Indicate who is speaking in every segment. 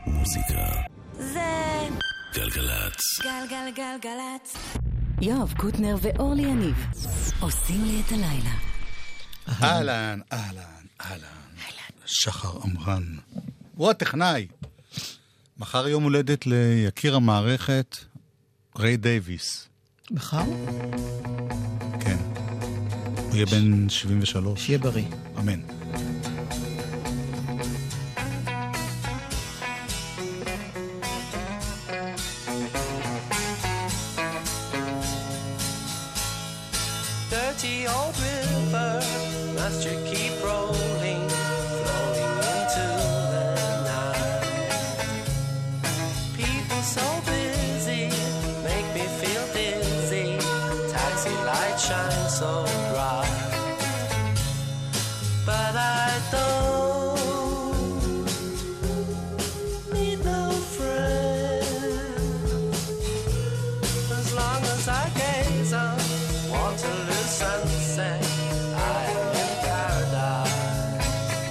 Speaker 1: מוזיקה
Speaker 2: זה
Speaker 1: גלגלצ.
Speaker 2: גלגלגלגלצ.
Speaker 3: יואב קוטנר ואורלי יניב עושים לי את הלילה.
Speaker 4: אהלן, שחר אמרן. הוא הטכנאי. מחר יום הולדת ליקיר המערכת, ריי דייביס.
Speaker 5: מחר?
Speaker 4: כן. הוא יהיה בן 73.
Speaker 5: שיהיה בריא.
Speaker 4: אמן.
Speaker 6: Dirty old river, must you keep rolling, flowing into the night? People so busy, make me feel dizzy, taxi lights shine so bright. But I don't need no friend, as long as I gaze on Waterloo sunset, I am in paradise.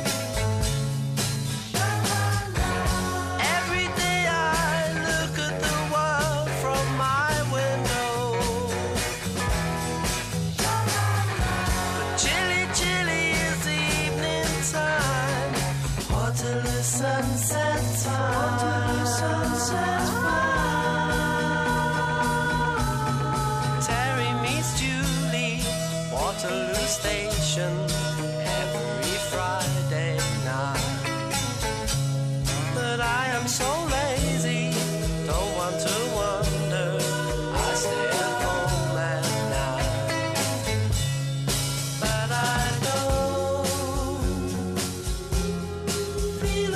Speaker 6: Every day I look at the world from my window, but chilly, chilly is the evening time. Waterloo sunset time. Waterloo sunset time. Terry meets Julie, Waterloo Station, every Friday night. But I am so lazy, don't want to wander, I stay at home at night. But I don't feel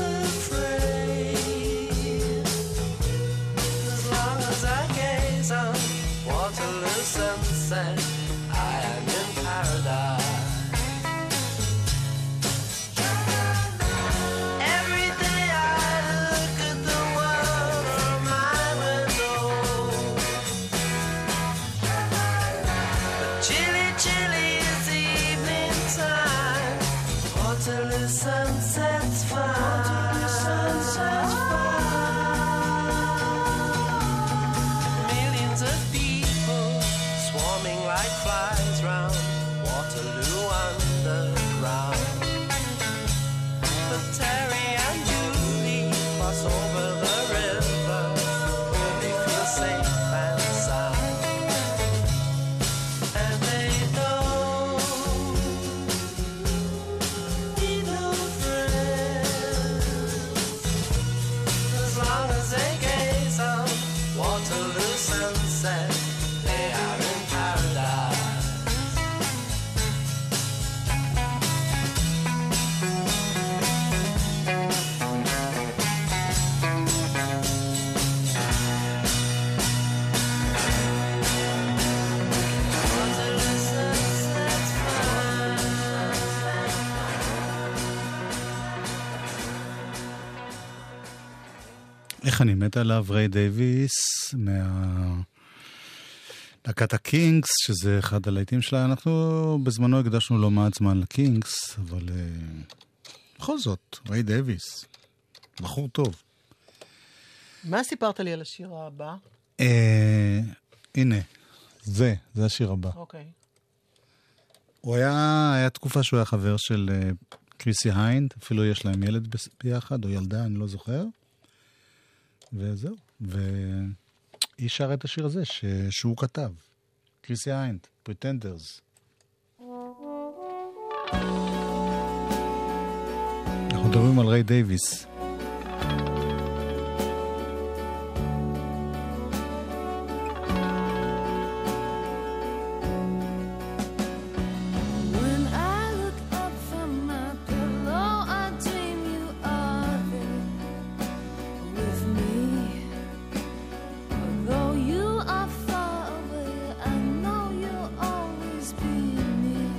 Speaker 6: afraid, as long as I gaze on Waterloo sunset, I am in paradise. Every day I look at the world from my window, but chilly, chilly is the evening time. Waterloo sunset's fine. Waterloo sunset's fine. Millions of people swarming like flies round Waterloo underground. But Terry and Julie cross over the river where they feel safe and sound. And they don't need no friends, as long as they gaze on Waterloo sunset, they are in paradise. Waterloo sunset's fine.
Speaker 4: איך אני מת עליו, ריי דייביס, להקת הקינגס, שזה אחד הלהיטים שלה. אנחנו בזמנו הקדשנו לא מעט זמן לקינגס, אבל בכל זאת, ריי דייביס, בחור טוב.
Speaker 5: מה סיפרת לי על השיר הבא?
Speaker 4: הנה, זה השיר הבא.
Speaker 5: אוקיי.
Speaker 4: הוא היה תקופה שהוא היה חבר של קריסי היינד, אפילו יש להם ילד ביחד, או ילדה, אני לא זוכר. וזהו. והיא שרה את השיר הזה שהוא כתב. קריסי היינד, פריטנדרס. אנחנו מדברים על ריי דייביס.
Speaker 2: When I look up from my pillow, I dream you are there with me. Although you are far away, I know you'll always be near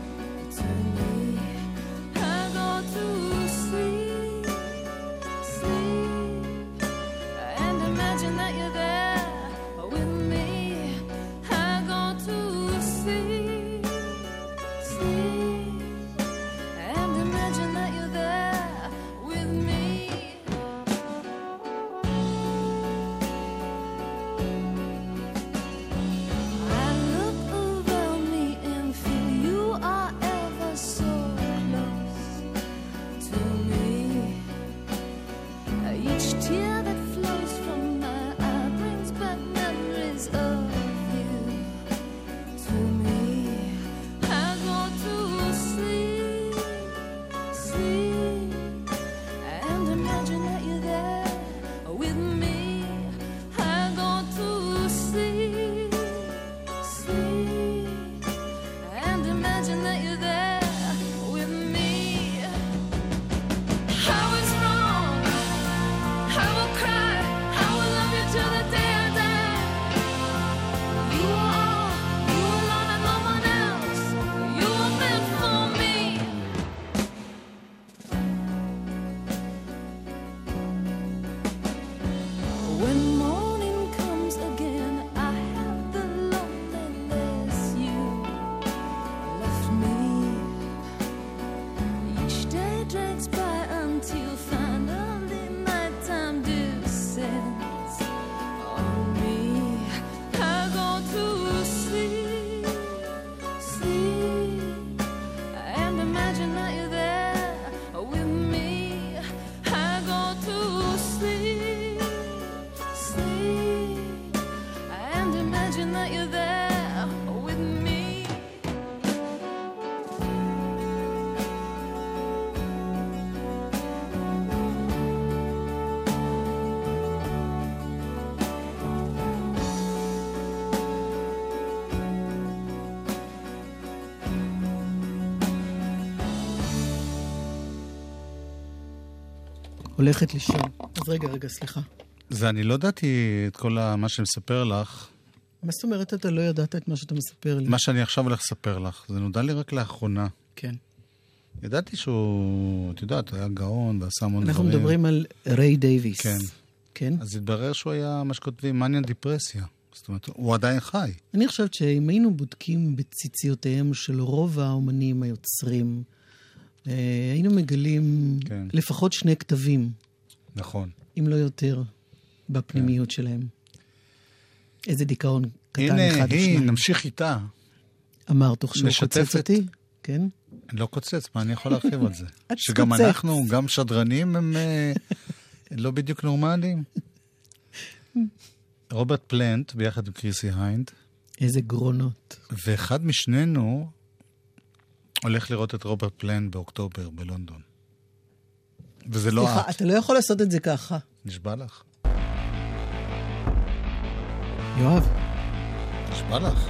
Speaker 2: to me. I go to sleep.
Speaker 5: הולכת לישון. אז רגע, סליחה.
Speaker 4: זה אני לא ידעתי את כל מה שאני מספר לך.
Speaker 5: מה זאת אומרת אתה לא ידעת את מה שאתה מספר לי?
Speaker 4: מה שאני עכשיו הולך לספר לך, זה נודע לי רק לאחרונה.
Speaker 5: כן.
Speaker 4: ידעתי שהוא, את יודעת, היה גאון ועשה המון דברים.
Speaker 5: אנחנו מדברים על ריי דייוויס.
Speaker 4: כן.
Speaker 5: כן?
Speaker 4: אז התברר שהוא היה מה שכותבים מניה דיפרסיה. זאת אומרת, הוא עדיין חי.
Speaker 5: אני חושבת שאם היינו בודקים בציציותיהם של רוב האומנים היוצרים, היינו מגלים
Speaker 4: כן.
Speaker 5: לפחות 2 כתבים,
Speaker 4: נכון.
Speaker 5: אם לא יותר, בפנימיות שלהם. איזה דיכאון קטן
Speaker 4: הנה,
Speaker 5: אחד או שניים.
Speaker 4: נמשיך איתה.
Speaker 5: אמר תוך שהוא
Speaker 4: משתפת.
Speaker 5: קוצץ אותי, כן?
Speaker 4: אני לא קוצץ, מה אני יכול להרחיב על זה?
Speaker 5: את
Speaker 4: שגם
Speaker 5: קוצץ.
Speaker 4: אנחנו, גם שדרנים, הם לא בדיוק נורמליים. רוברט פלנט, ביחד עם קריסי היינד,
Speaker 5: איזה גרונות.
Speaker 4: ואחד משנינו הולך לראות את רוברט פלנט באוקטובר בלונדון. וזה לא
Speaker 5: סליחה,
Speaker 4: את.
Speaker 5: אתה לא יכול לעשות את זה ככה.
Speaker 4: נשבע לך.
Speaker 5: יואב.
Speaker 4: נשבע לך.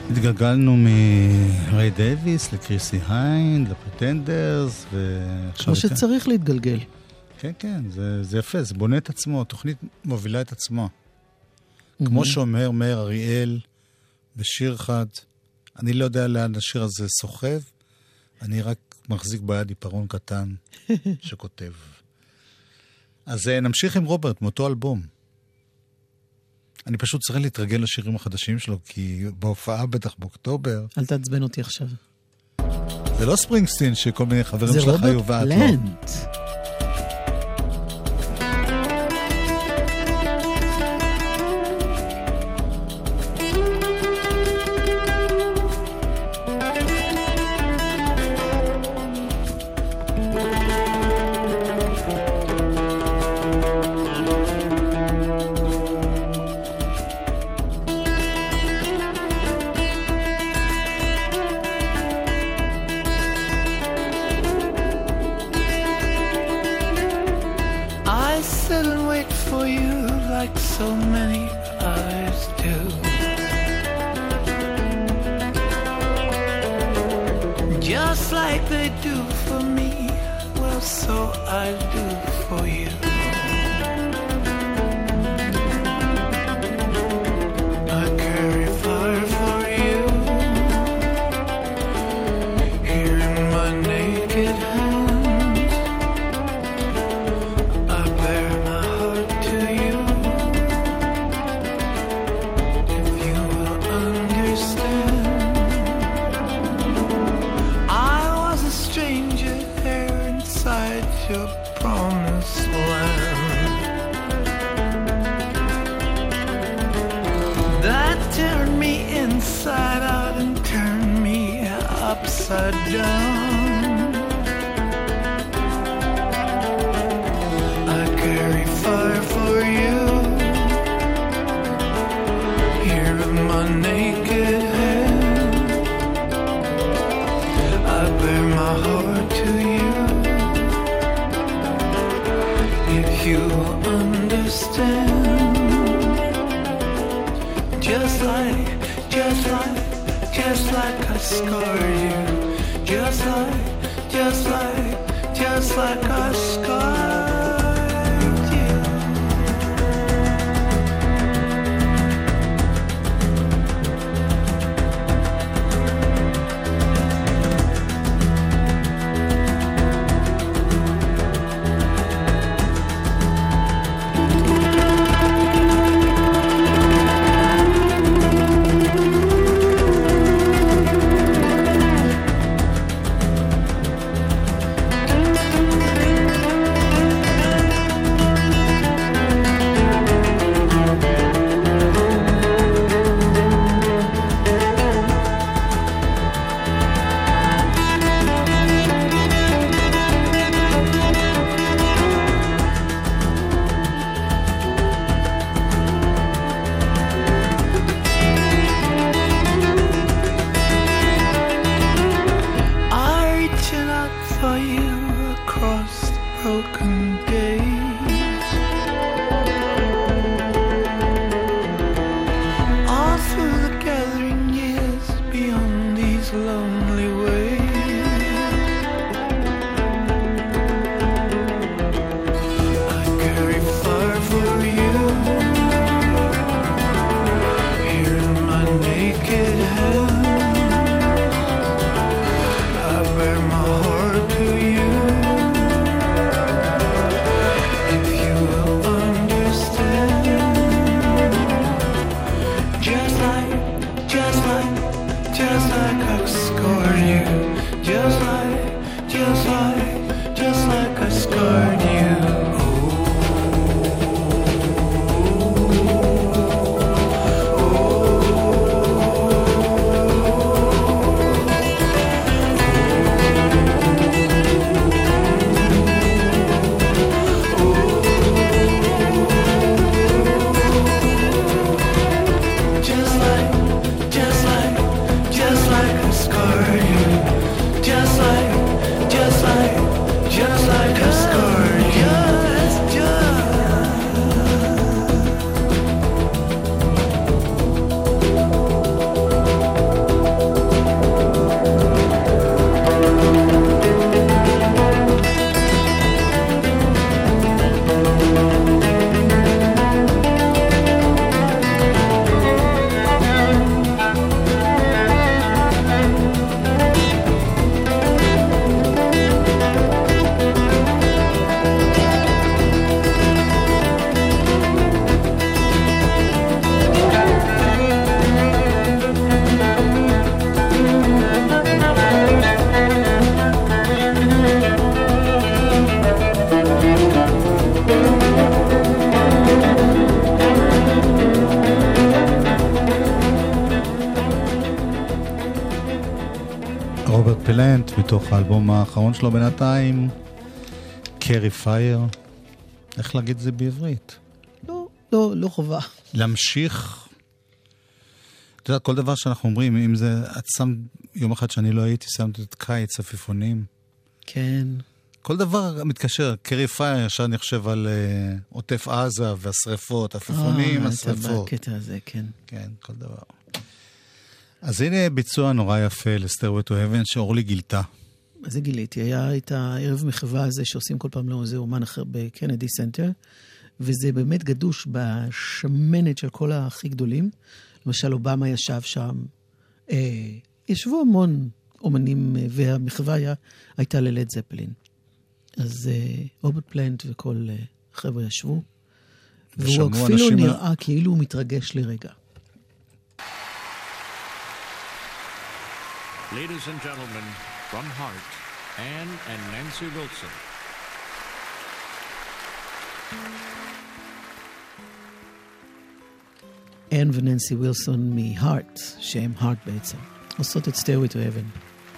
Speaker 4: התגלגלנו מריי דייביס לקריסי היינד, לפרטנדרס, ועכשיו...
Speaker 5: כמו שצריך להתגלגל.
Speaker 4: כן, כן, זה יפה, זה בונה את עצמו, התוכנית מובילה את עצמה. כמו שאומר מאיר אריאל בשיר אחד, אני לא יודע לאן השיר הזה סוחב, אני רק מחזיק ביד עיפרון קטן שכותב. אז נמשיך עם רוברט, מאותו אלבום. אני פשוט צריך להתרגל לשירים החדשים שלו, כי בהופעה בטח באוקטובר...
Speaker 5: אל תעצבן אותי עכשיו.
Speaker 4: זה לא ספרינגסטין שכל מיני חברים
Speaker 5: זה
Speaker 4: שלך היו ואת
Speaker 5: רוברט
Speaker 4: לא.
Speaker 5: פלנט.
Speaker 6: Just like
Speaker 4: רוברט פלנט, מתוך האלבום האחרון שלו בינתיים, קרי פייר. איך להגיד את זה בעברית?
Speaker 5: לא חובה.
Speaker 4: להמשיך. אתה יודע, כל דבר שאנחנו אומרים, אם זה, את שם, יום אחד שאני לא הייתי, שמת את קיץ, עפיפונים.
Speaker 5: כן.
Speaker 4: כל דבר מתקשר, קרי פייר, ישר אני חושב על עוטף עזה והשריפות, עפיפונים, השריפות.
Speaker 5: בקטע הזה, כן.
Speaker 4: כן, כל דבר. אז הנה ביצוע נורא יפה לסטייווי טו האבן שאורלי גילתה.
Speaker 5: אז זה גיליתי, היה את הערב מחווה הזה שעושים כל פעם לאיזה אומן אחר בקנדי סנטר, וזה באמת גדוש בשמנת של כל הכי גדולים. למשל, אובמה ישב שם, ישבו המון אומנים, והמחווה הייתה ללד זפלין. אז רוברט פלנט וכל חבר'ה ישבו, והוא אפילו נראה כאילו הוא מתרגש לרגע.
Speaker 1: Ladies and gentlemen, from Heart, Anne and Nancy Wilson.
Speaker 5: Anne וננסי וילסון מ-Heart, שהם Heart בעצם. עושות את Stairway to Heaven.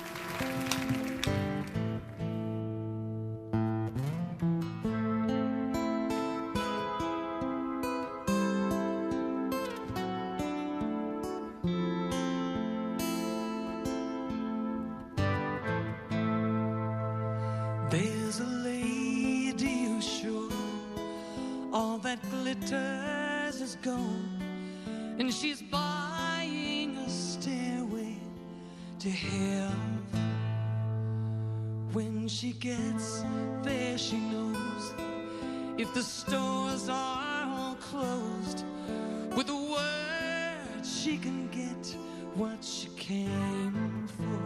Speaker 6: There's a lady who's sure all that glitters is gold, and she's buying a stairway to hell. When she gets there, she knows if the stores are all closed, with a word she can get what she came for.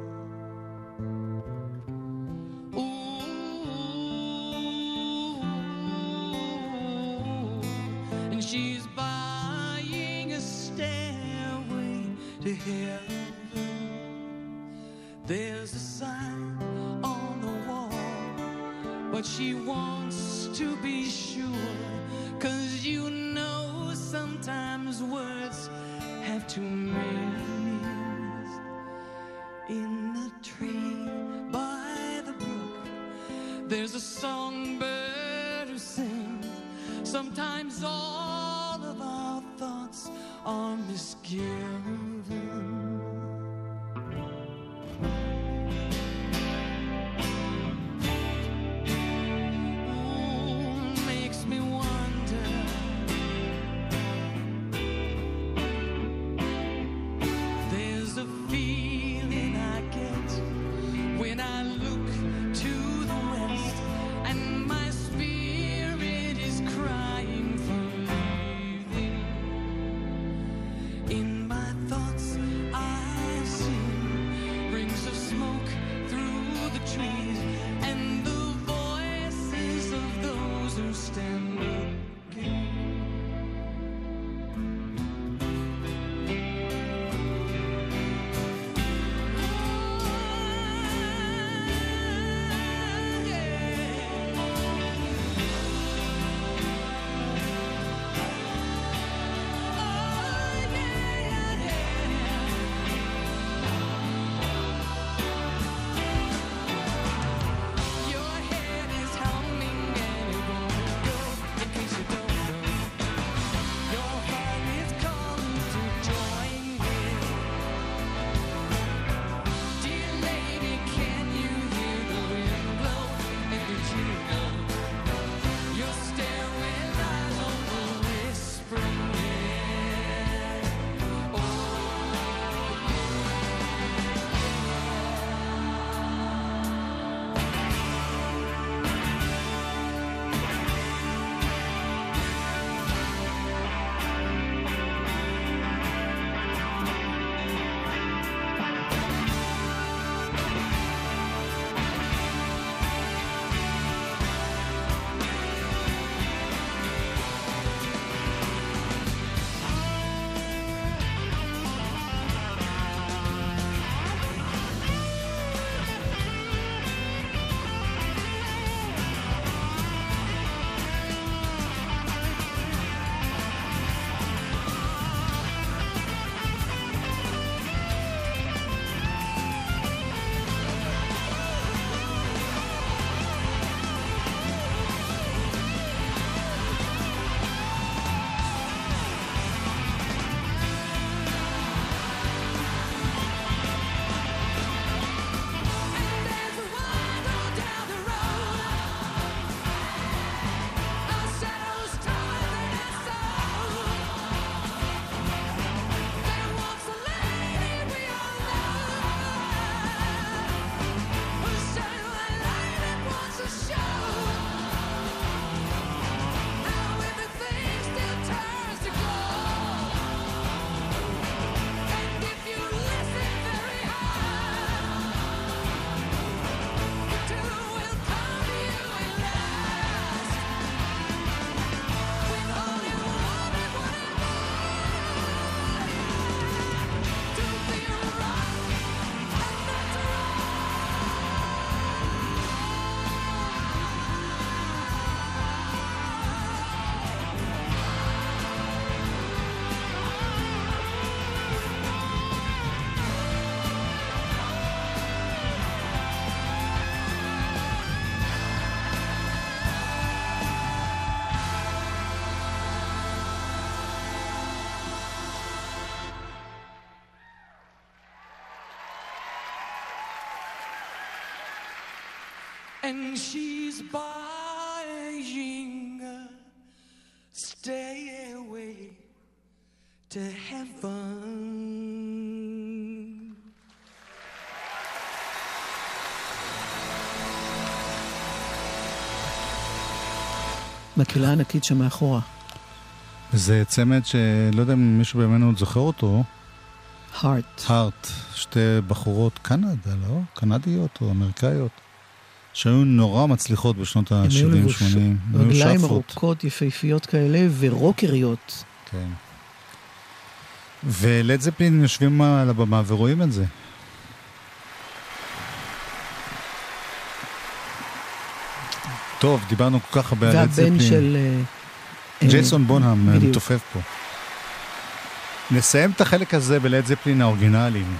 Speaker 6: She's buying a stairway to heaven. There's a sign on the wall, but she wants to be sure, 'cause you know sometimes words have two meanings. In the tree by the brook, there's a songbird who sings. Sometimes all of our thoughts are misgiven. Ooh, makes me wonder. There's a feeling I get when I look to the west, and my spirit is crying for leaving. In my thoughts I see rings of smoke through the trees, and the voices of those who stand looking. and she's buying a stairway to heaven.
Speaker 5: מקהלה ענקית שם מאחורה.
Speaker 4: זה צמד שלא יודע אם מישהו בימינו עוד זוכר אותו.
Speaker 5: הארט.
Speaker 4: שתי בחורות קנדה, לא? קנדיות או אמריקאיות. שהיו נורא מצליחות בשנות ה-70-80.
Speaker 5: רגליים ארוכות, יפהפיות כאלה, ורוקריות.
Speaker 4: כן. ולד זפלין יושבים על הבמה ורואים את זה. טוב, דיברנו כל כך הרבה על לד זפלין.
Speaker 5: והבן של...
Speaker 4: ג'ייסון בונהאם מתופף פה. נסיים את החלק הזה בלד זפלין האורגינליים.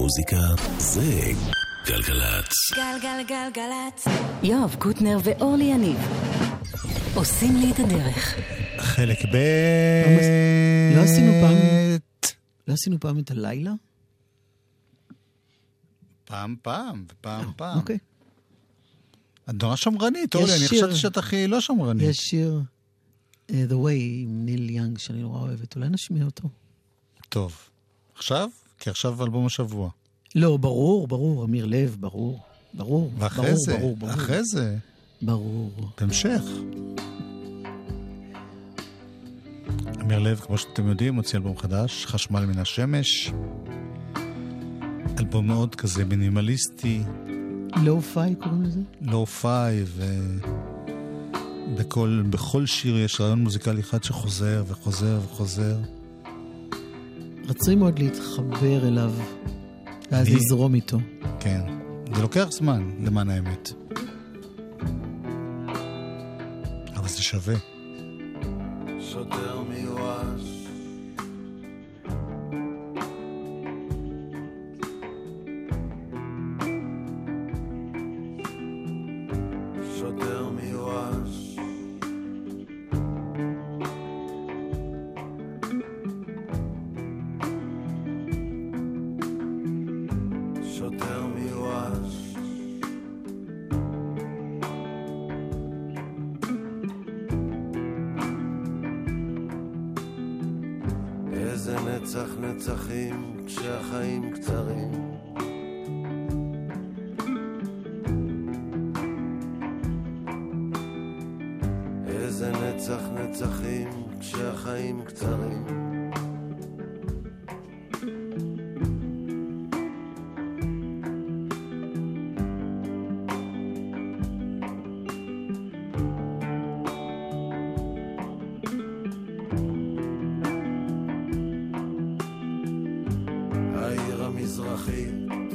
Speaker 7: מוזיקה זה גלגלצ.
Speaker 2: גלגלגלגלצ.
Speaker 3: יואב קוטנר ואורלי יניב עושים לי את הדרך.
Speaker 4: חלק ב'
Speaker 5: לא עשינו פעם את הלילה?
Speaker 4: פעם, ופעם.
Speaker 5: אוקיי.
Speaker 4: את נורא שמרנית, אורלי, אני חושבת שאת הכי לא שמרנית.
Speaker 5: יש שיר The Way עם ניל יאנג שאני נורא אוהבת, אולי נשמיע אותו.
Speaker 4: טוב. עכשיו? כי עכשיו אלבום השבוע.
Speaker 5: לא, ברור, אמיר לב, ברור.
Speaker 4: ואחרי זה,
Speaker 5: ברור.
Speaker 4: אחרי זה.
Speaker 5: ברור.
Speaker 4: בהמשך. אמיר לב, כמו שאתם יודעים, הוציא אלבום חדש, חשמל מן השמש. אלבום מאוד כזה מינימליסטי.
Speaker 5: לואו-פיי קוראים לזה?
Speaker 4: לואו-פיי, בכל שיר יש רעיון מוזיקלי אחד שחוזר וחוזר.
Speaker 5: רצוי מאוד להתחבר אליו, ואז לזרום איתו.
Speaker 4: כן, זה לוקח זמן, למען האמת. אבל זה שווה.
Speaker 8: שוטר מיואש, שוטר מיואש, שוטר מיואש, איזה נצח נצחים כשהחיים קצרים, איזה נצח נצחים כשהחיים קצרים, העיר המזרחית,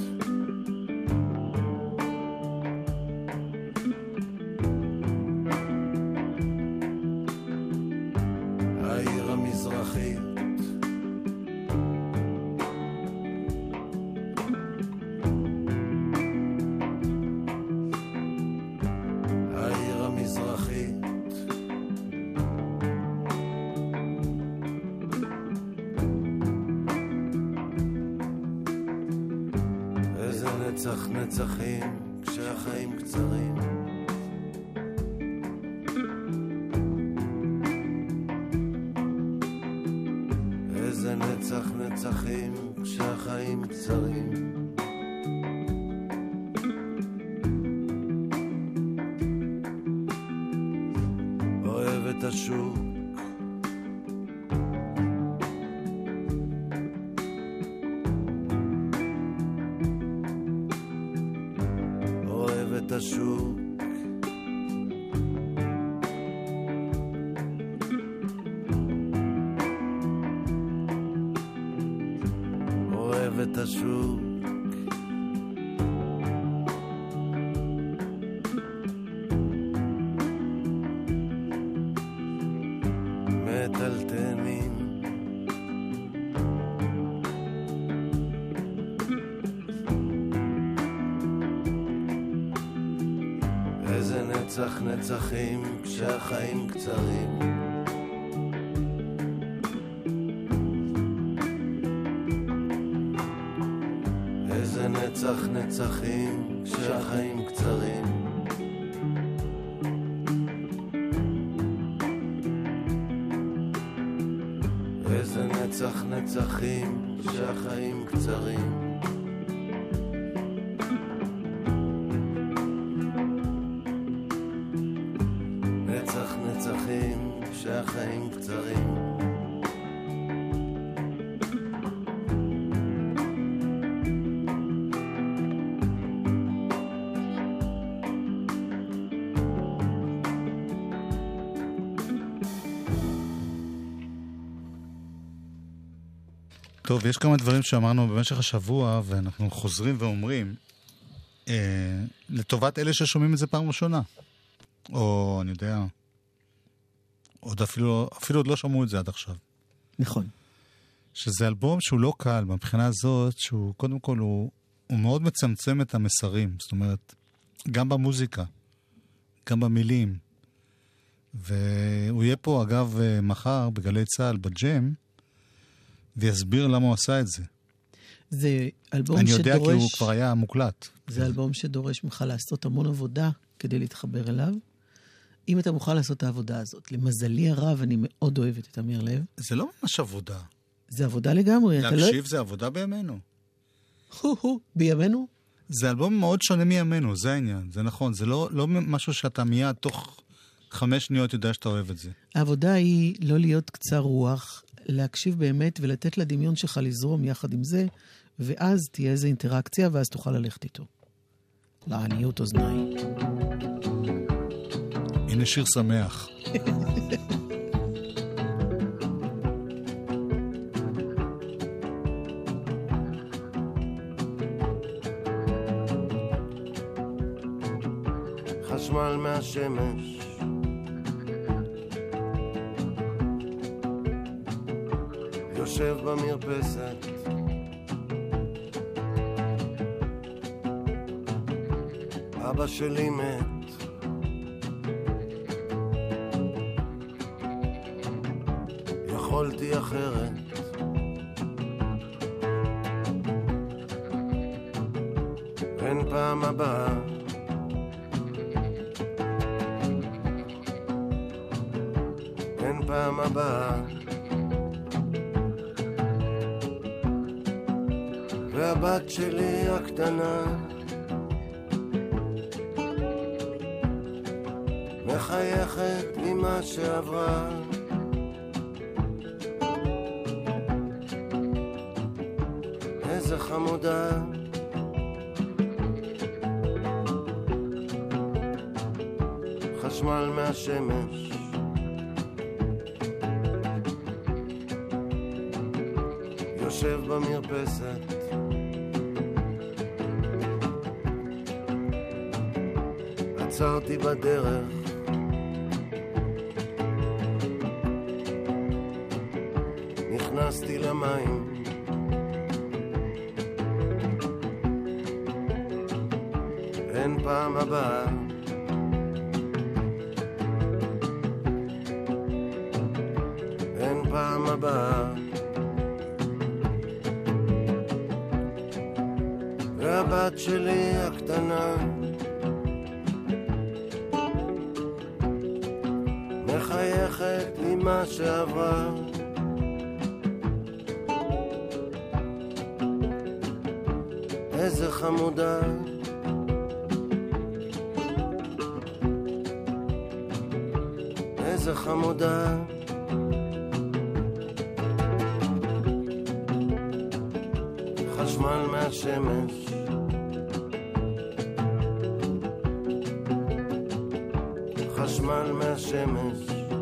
Speaker 8: העיר המזרחית, העיר המזרחית, איזה נצח נצחים כשהחיים קצרים, איזה נצח נצחים כשהחיים קצרים, אוהב את השוק, אוהב את השוק, אוהב את השוק, מטלטנים, איזה נצח נצחים כשהחיים קצרים, איזה נצח נצחים כשהחיים קצרים, איזה נצח נצחים כשהחיים קצרים, נצח נצחים כשהחיים קצרים,
Speaker 4: טוב, יש כמה דברים שאמרנו במשך השבוע, ואנחנו חוזרים ואומרים, לטובת אלה ששומעים את זה פעם ראשונה. או, אני יודע, עוד אפילו עוד לא שמעו את זה עד עכשיו.
Speaker 5: נכון.
Speaker 4: שזה אלבום שהוא לא קל, מבחינה הזאת, שהוא קודם כל הוא מאוד מצמצם את המסרים, זאת אומרת, גם במוזיקה, גם במילים, והוא יהיה פה אגב מחר בגלי צהל בג'ם, ויסביר למה הוא עשה את זה.
Speaker 5: זה אלבום
Speaker 4: אני
Speaker 5: שדורש...
Speaker 4: יודע כי הוא כבר היה מוקלט.
Speaker 5: זה אלבום שדורש ממך לעשות המון עבודה כדי להתחבר אליו. אם אתה מוכן לעשות את העבודה הזאת, למזלי הרב, אני מאוד אוהבת את אמיר לב.
Speaker 4: זה לא ממש עבודה.
Speaker 5: זה עבודה לגמרי.
Speaker 4: להקשיב זה עבודה בימינו.
Speaker 5: בימינו?
Speaker 4: זה אלבום מאוד שונה מימינו, זה העניין, זה נכון. זה לא משהו שאתה מיד תוך 5 שניות יודע שאתה אוהב את זה.
Speaker 5: העבודה היא לא להיות קצר רוח, להקשיב באמת ולתת לדמיון שלך לזרום יחד עם זה, ואז תהיה איזו אינטראקציה, ואז תוכל ללכת איתו. לעניות אוזניים.
Speaker 4: הנה שיר שמח.
Speaker 8: חשמל מהשמש, יושב במרפסת, אבא שלי מת, יכולתי אחרת, אין פעם הבאה, אין פעם הבאה, והבת שלי הקטנה מחייכת עם מה שעברה, איזה חמודה, חשמל מהשמש, יושב במרפסת, עצרתי בדרך, נכנסתי למים, אין פעם הבאה, אין פעם הבאה, והבת שלי הקטנה מחייכת עם מה שעברה, איזה חמודה, איזה חמודה, חשמל מהשמש, חשמל מהשמש,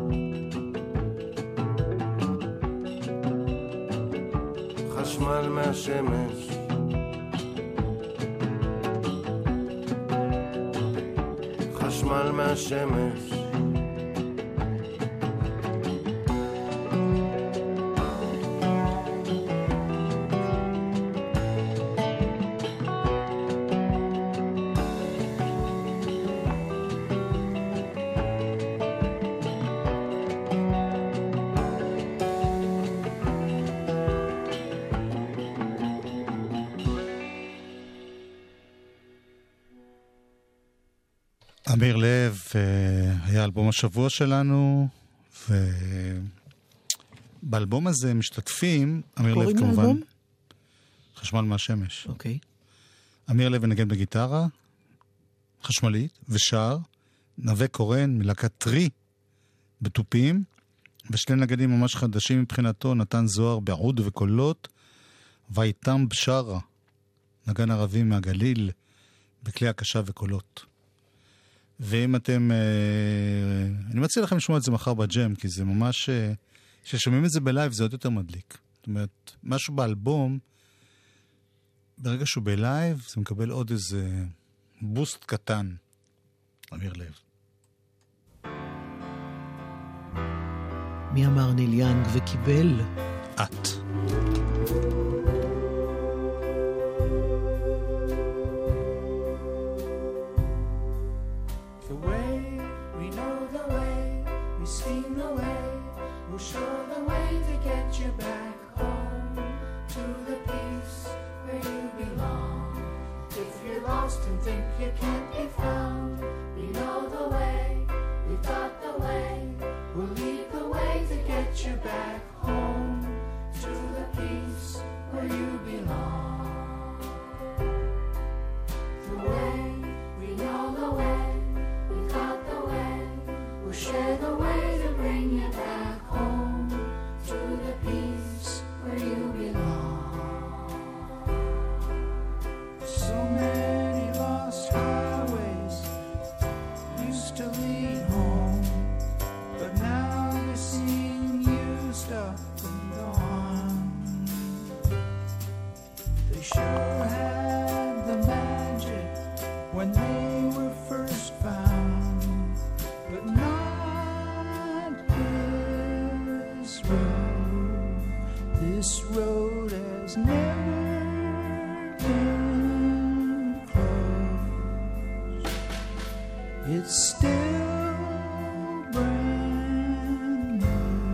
Speaker 8: חשמל מהשמש, חשמל מהשמש,
Speaker 4: אמיר לב היה אלבום השבוע שלנו, ובאלבום הזה משתתפים, אמיר לב כמובן,
Speaker 5: לאלבום?
Speaker 4: חשמל מהשמש.
Speaker 5: אוקיי.
Speaker 4: אמיר לב מנגן בגיטרה חשמלית ושר, נווה קורן מלהקת טרי בטופים, ושני נגנים ממש חדשים מבחינתו, נתן זוהר בעוד וקולות, ואיתם בשרה, נגן ערבי מהגליל, בכלי הקשה וקולות. ואם אתם, אני מציע לכם לשמוע את זה מחר בג'ם, כי זה ממש, כששומעים את זה בלייב זה עוד יותר מדליק. זאת אומרת, משהו באלבום, ברגע שהוא בלייב, זה מקבל עוד איזה בוסט קטן. אמיר לב.
Speaker 5: מי אמר ניל יאנג וקיבל?
Speaker 4: את.
Speaker 6: The way, we know the way, we've seen the way, we'll show the way to get you back home to the peace where you belong. If you're lost and think you can't be found, we know the way, we've got the way, we'll lead the way to get you back home to the peace where you belong. The way, we know the way, we've got the way, we'll share the way to bring you back home to the peace where you belong. So many lost highways used to lead home, but now they seem used up and gone. They sure had the magic when they were first found, but not this road. This road has never been closed. It's still brand new.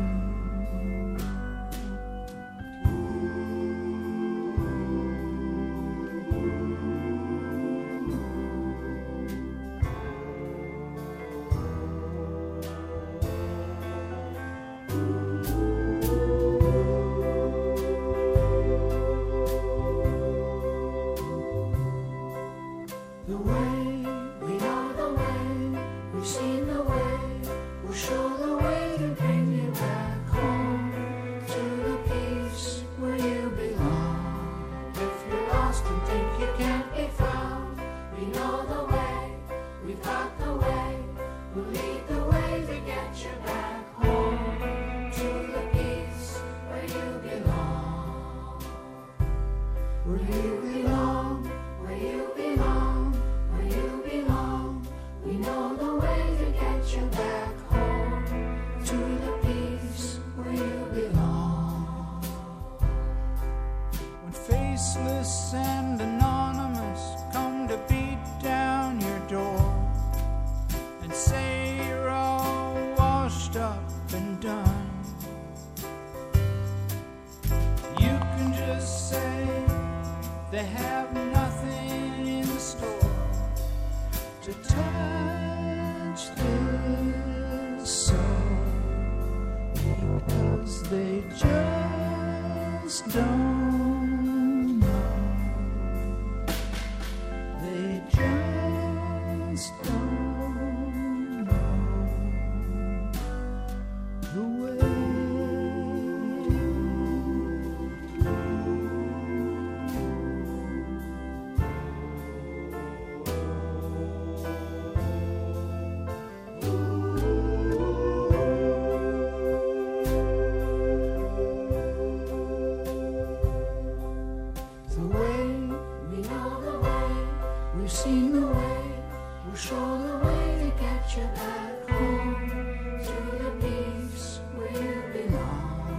Speaker 6: The way, we know the way, we've seen the way, we'll show the way to bring you back home to the peace where you belong. If you're lost and think you can't be found, we know the way, we've got the way, we'll lead the way to get you back home to the peace where you belong. Where you belong, where you belong, where you belong. We know the way to get you back home to the peace where you belong. When faceless and anonymous come to beat down your door and say you're all washed up and done, you can just say they have nothing in store to touch this soul, because they just don't know. They just don't know the way. The way, we know the way, we've seen the way, we'll show the way to get you back home to the peace where you belong.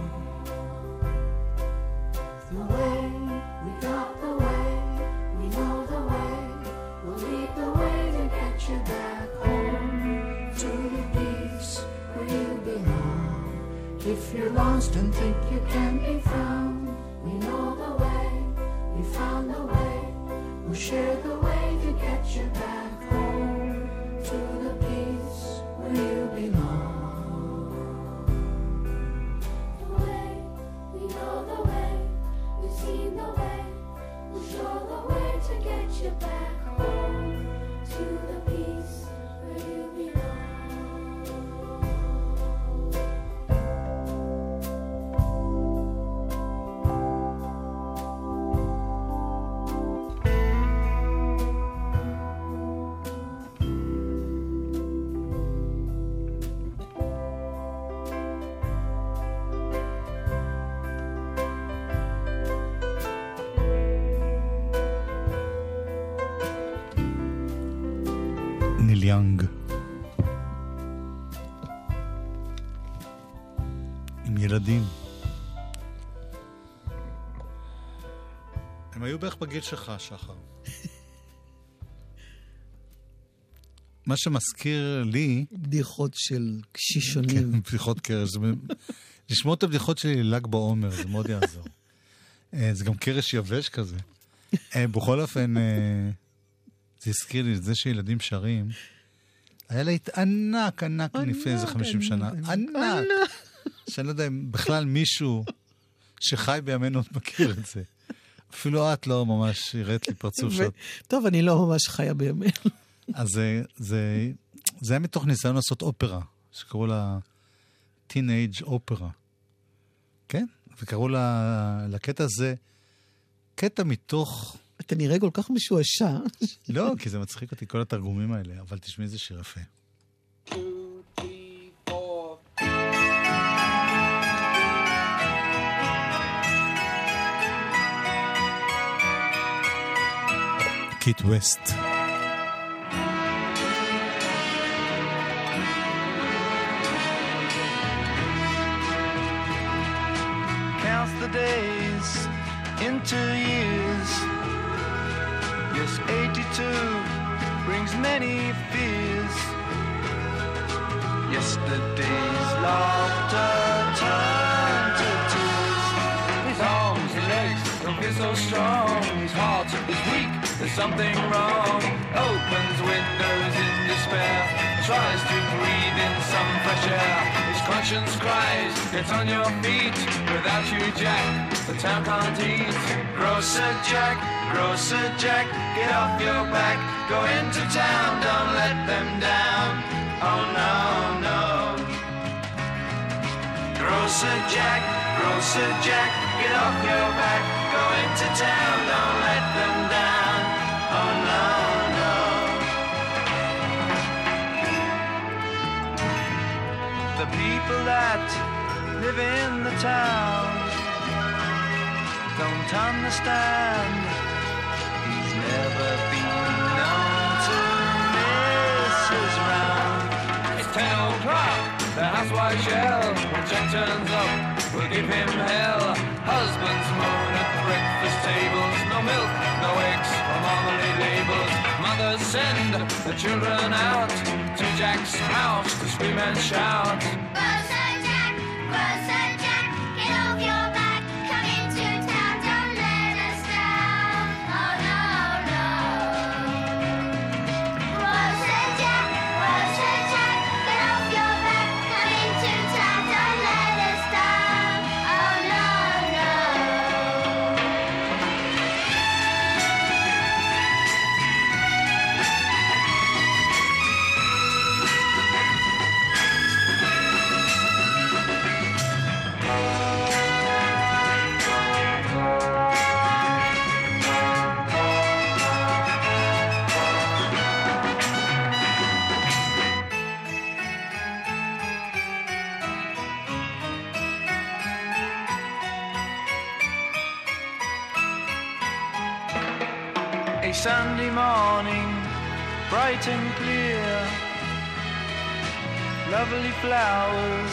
Speaker 6: The way, we got the way, we know the way, we'll lead the way to get you back home to the peace where you belong. If you're lost and think you can't be found, we know the way, we found the way, we'll share the way to get you back home to the peace where you belong.
Speaker 2: The way, we know the way, we've seen the way, we'll show the way to get you back home to the peace where you belong.
Speaker 4: ניל יאנג. עם ילדים. הם היו בערך בגיל שלך, שחר. מה שמזכיר לי...
Speaker 5: בדיחות של קשישונים.
Speaker 4: כן, בדיחות קרש. לשמוע את הבדיחות שלי לל"ג בעומר, זה מאוד יעזור. זה גם קרש יבש כזה. בכל אופן, זה הזכיר לי את זה שילדים שרים. היה לה ענק לפני איזה 50 שנה. ענק. שאני לא יודע אם בכלל מישהו שחי בימינו מכיר את זה. אפילו את לא ממש הראת לי פרצוף שאת...
Speaker 5: טוב, אני לא ממש חיה בימינו.
Speaker 4: אז זה היה מתוך ניסיון לעשות אופרה, שקראו לה טינאג' אופרה. כן? וקראו לקטע הזה, קטע מתוך...
Speaker 5: אתה נראה כל כך משועשע.
Speaker 4: לא, כי זה מצחיק אותי, כל התרגומים האלה, אבל תשמעי איזה שיר יפה.
Speaker 6: 2, 3, 4.
Speaker 4: קיט ווסט.
Speaker 6: Counts the days into years. Yes, 82 brings many fears. Yesterday's laughter turned to tears. His arms and legs don't feel so strong. His heart is weak, there's something wrong. Opens windows in despair, tries to breathe in some fresh air. His conscience cries, get on your feet. Without you, Jack, the town can't eat. Grocer Jack, get off your back. Go into town, don't let them down. Oh no, no. Grocer Jack, get off your back. Go into town, don't let them down. Oh no, no. The people that live in the town don't understand. He's never been known to miss his round. It's 10 o'clock, the housewife shell. When Jack turns up, we'll give him hell. Husbands moan at breakfast tables. No milk, no eggs, or marmalade labels. Mothers send the children out to Jack's house to scream and shout.
Speaker 2: Grocer Jack, get off your back. Come into town, don't let us down. Oh no, no. Grocer Jack, get off your back. Come into town, don't let us down. Oh no, no.
Speaker 6: A Sunday morning, bright and clear, lovely flowers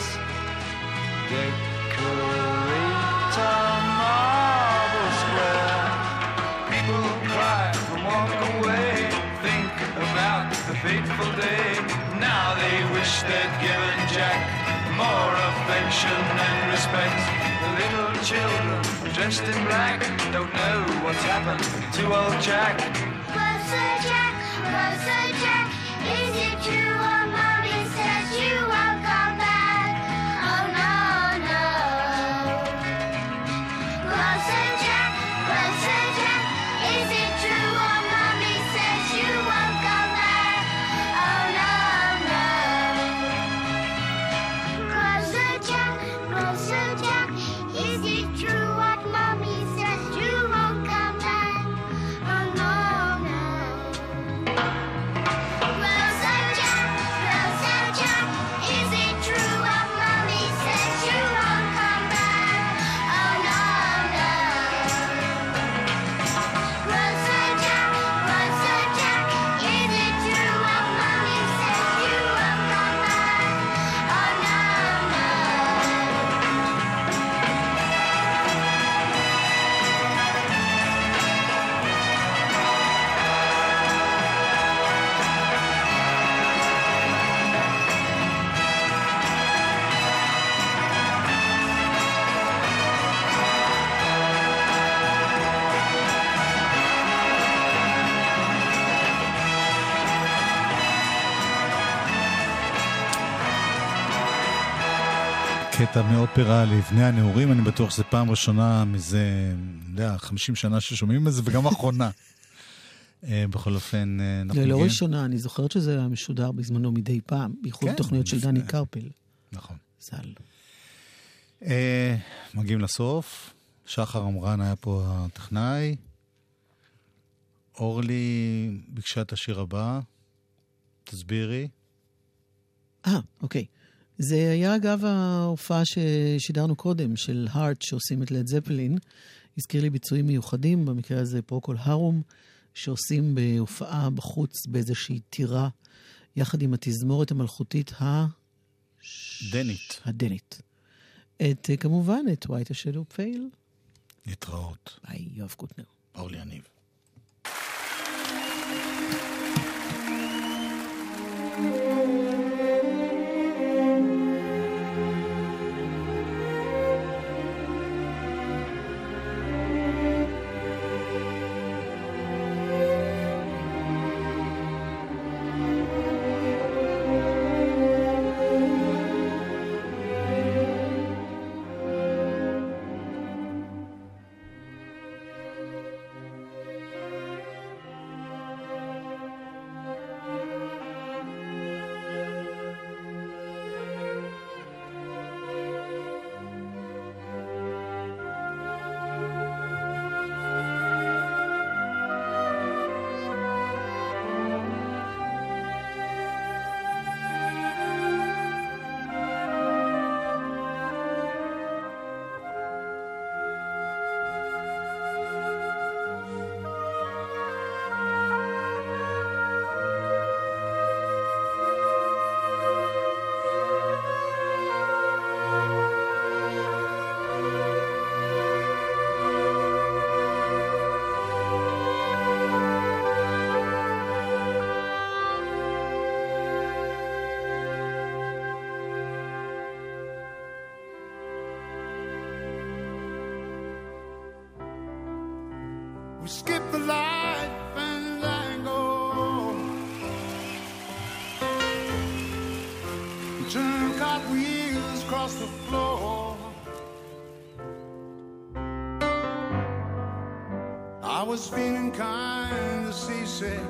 Speaker 6: decorate a marble square. People cry and walk away, think about the fateful day. Now they wish they'd given Jack more affection and respect. The little children dressed in black don't know what's happened to old Jack.
Speaker 2: Grocer Jack, is it true what Mommy says you won't come back? Oh no, no. Grocer Jack, is it true what Mommy says you won't come back? Oh no, no. Grocer Jack, is it true what Mommy says you won't come back? Oh no, no. Grocer Jack,
Speaker 4: קטע מאופרה לבני הנעורים, אני בטוח שזה פעם ראשונה מזה, 50 שנה ששומעים את זה, וגם אחרונה. בכל אופן,
Speaker 5: לא ראשונה, אני זוכרת שזה היה משודר בזמנו מדי פעם, בייחוד תוכניות של דני קרפל.
Speaker 4: נכון.
Speaker 5: זל.
Speaker 4: מגיעים לסוף, שחר אמרן היה פה הטכנאי, אורלי ביקשה את השיר הבא, תסבירי.
Speaker 5: אוקיי. זה היה אגב ההופעה ששידרנו קודם, של הארט, שעושים את לד זפלין. הזכיר לי ביצועים מיוחדים, במקרה הזה פרוקול הרום, שעושים בהופעה בחוץ באיזושהי טירה, יחד עם התזמורת המלכותית הדנית. כמובן, את White a Shadow Pale.
Speaker 4: להתראות.
Speaker 5: ביי, יואב קוטנר.
Speaker 4: אורלי יניב.
Speaker 9: We skip the life and tango, turn cartwheels across the floor. I was feeling kind of seasick,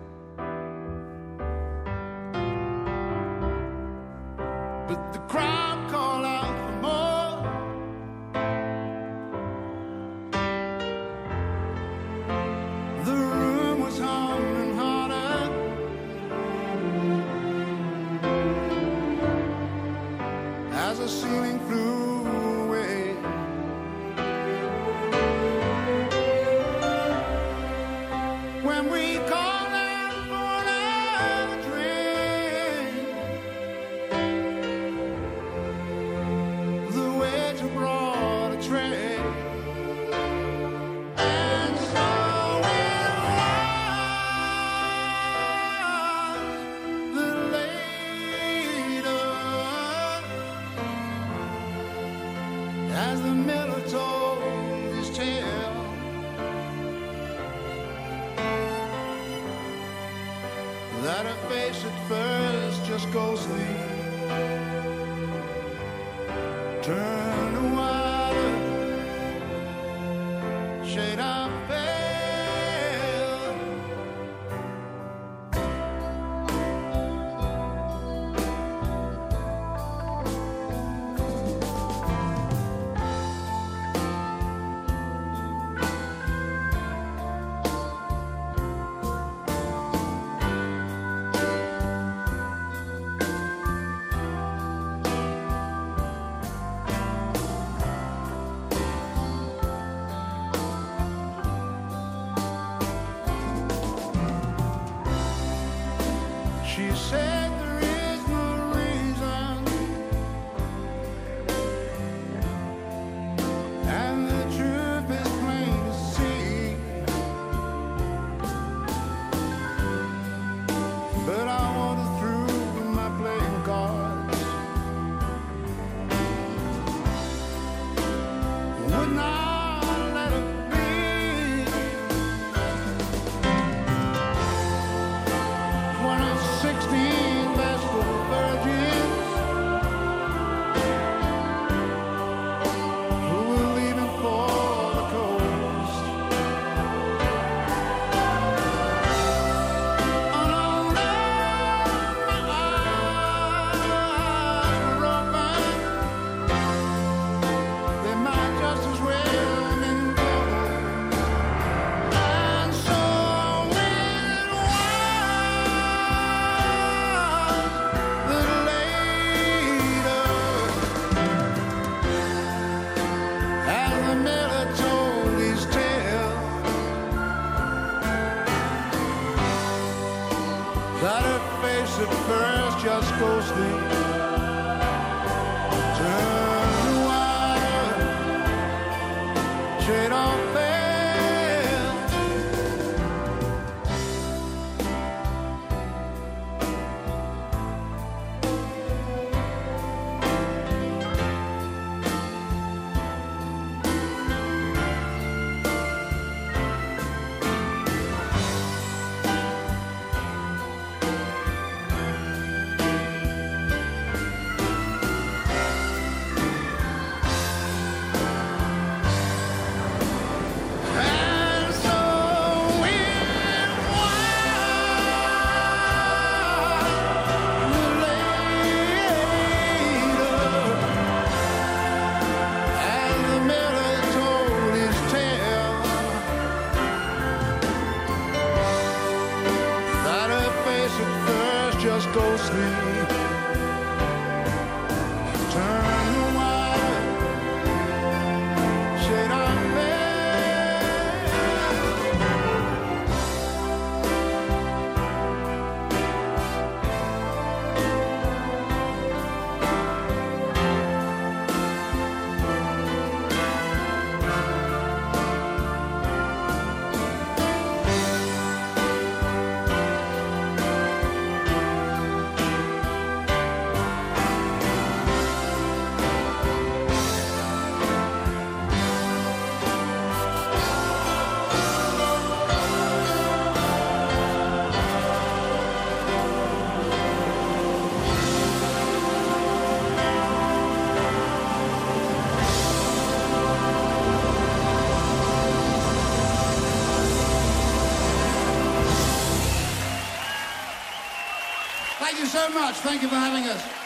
Speaker 9: but the crowd called out for more. The room was humming harder, as the ceiling flew away. When we called out for another drink, the waiter brought a tray, and so it was that later, as the miller told his tale, that her face at first just ghostly turned to water, shade of pale. She said there is no reason, and the truth is plain to see, but I wanted through my playing cards, would not let it be. When at 16 face at first just ghostly. Turn the wire, shade off there.
Speaker 10: Thank you so much. Thank you for having us.